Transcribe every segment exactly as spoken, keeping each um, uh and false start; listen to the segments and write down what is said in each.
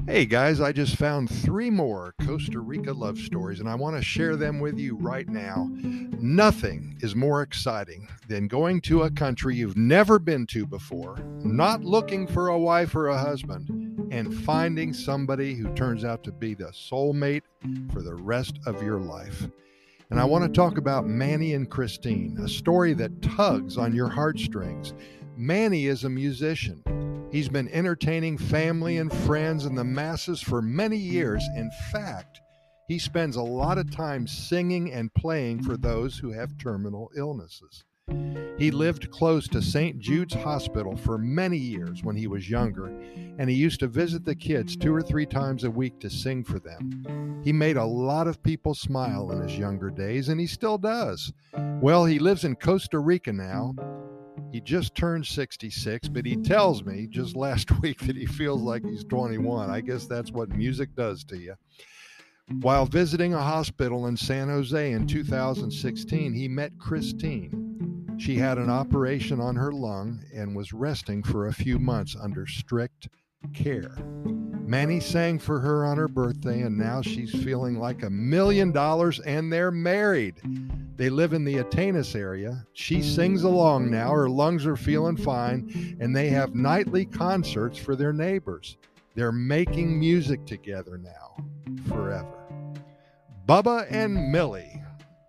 Hey guys, I just found three more Costa Rica love stories and I want to share them with you right now. Nothing is more exciting than going to a country you've never been to before, not looking for a wife or a husband, and finding somebody who turns out to be the soulmate for the rest of your life. And I want to talk about Manny and Christine, a story that tugs on your heartstrings. Manny is a musician. He's been entertaining family and friends and the masses for many years. In fact, he spends a lot of time singing and playing for those who have terminal illnesses. He lived close to Saint Jude's Hospital for many years when he was younger, and he used to visit the kids two or three times a week to sing for them. He made a lot of people smile in his younger days, and he still does. Well, he lives in Costa Rica now. He just turned sixty-six, but he tells me just last week that he feels like he's twenty-one. I guess that's what music does to you. While visiting a hospital in San Jose in two thousand sixteen, he met Christine. She had an operation on her lung and was resting for a few months under strict care. Manny sang for her on her birthday, and now she's feeling like a million dollars, and they're married. They live in the Atenas area. She sings along now. Her lungs are feeling fine, and they have nightly concerts for their neighbors. They're making music together now, forever. Bubba and Millie.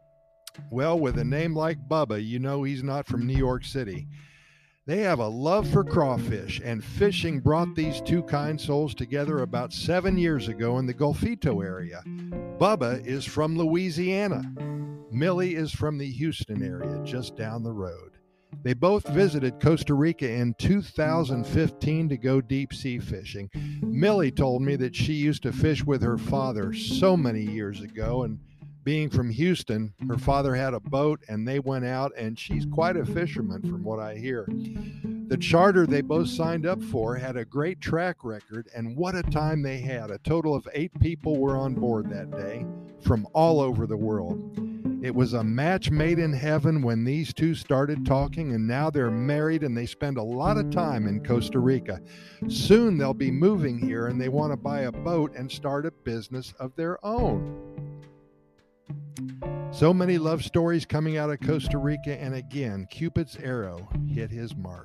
Well, with a name like Bubba, you know he's not from New York City. They have a love for crawfish, and fishing brought these two kind souls together about seven years ago in the Golfito area. Bubba is from Louisiana. Millie is from the Houston area, just down the road. They both visited Costa Rica in two thousand fifteen to go deep sea fishing. Millie told me that she used to fish with her father so many years ago, and being from Houston, her father had a boat and they went out, and she's quite a fisherman from what I hear. The charter they both signed up for had a great track record, and what a time they had. A total of eight people were on board that day from all over the world. It was a match made in heaven when these two started talking, and now they're married and they spend a lot of time in Costa Rica. Soon they'll be moving here and they want to buy a boat and start a business of their own. So many love stories coming out of Costa Rica, and again, Cupid's arrow hit his mark.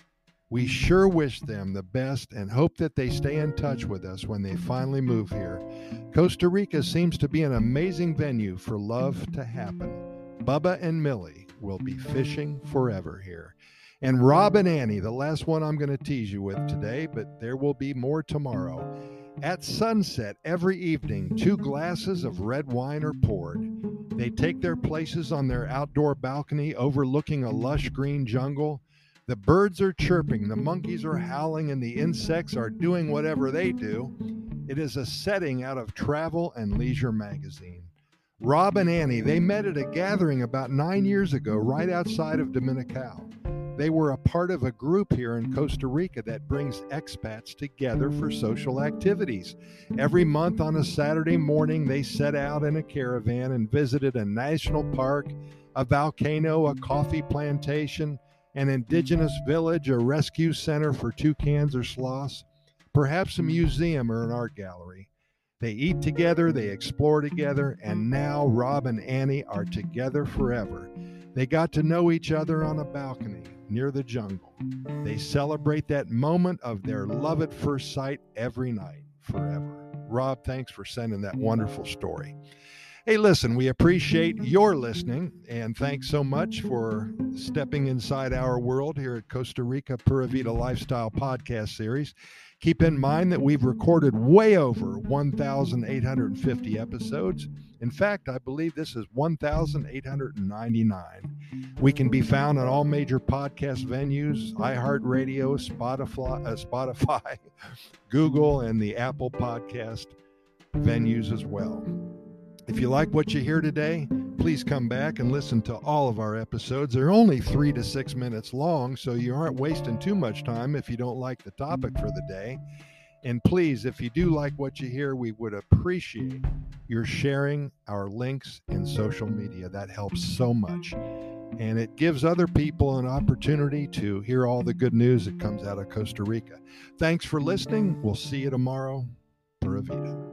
We sure wish them the best and hope that they stay in touch with us when they finally move here. Costa Rica seems to be an amazing venue for love to happen. Bubba and Millie will be fishing forever here. And Rob and Annie, the last one I'm going to tease you with today, but there will be more tomorrow. At sunset every evening, two glasses of red wine are poured. They take their places on their outdoor balcony overlooking a lush green jungle. The birds are chirping, the monkeys are howling, and the insects are doing whatever they do. It is a setting out of Travel and Leisure magazine. Rob and Annie, they met at a gathering about nine years ago right outside of Dominical. They were a part of a group here in Costa Rica that brings expats together for social activities. Every month on a Saturday morning, they set out in a caravan and visited a national park, a volcano, a coffee plantation, an indigenous village, a rescue center for toucans or sloths, perhaps a museum or an art gallery. They eat together, they explore together, and now Rob and Annie are together forever. They got to know each other on a balcony near the jungle. They celebrate that moment of their love at first sight every night, forever. Rob, thanks for sending that wonderful story. Hey, listen, we appreciate your listening, and thanks so much for stepping inside our world here at Costa Rica Pura Vida Lifestyle Podcast Series. Keep in mind that we've recorded way over one thousand eight hundred fifty episodes. In fact, I believe this is one thousand eight hundred ninety-nine. We can be found on all major podcast venues, iHeartRadio, Spotify, uh, Spotify, Google, and the Apple Podcast venues as well. If you like what you hear today, please come back and listen to all of our episodes. They're only three to six minutes long, so you aren't wasting too much time if you don't like the topic for the day. And please, if you do like what you hear, we would appreciate your sharing our links in social media. That helps so much. And it gives other people an opportunity to hear all the good news that comes out of Costa Rica. Thanks for listening. We'll see you tomorrow. Pura Vida.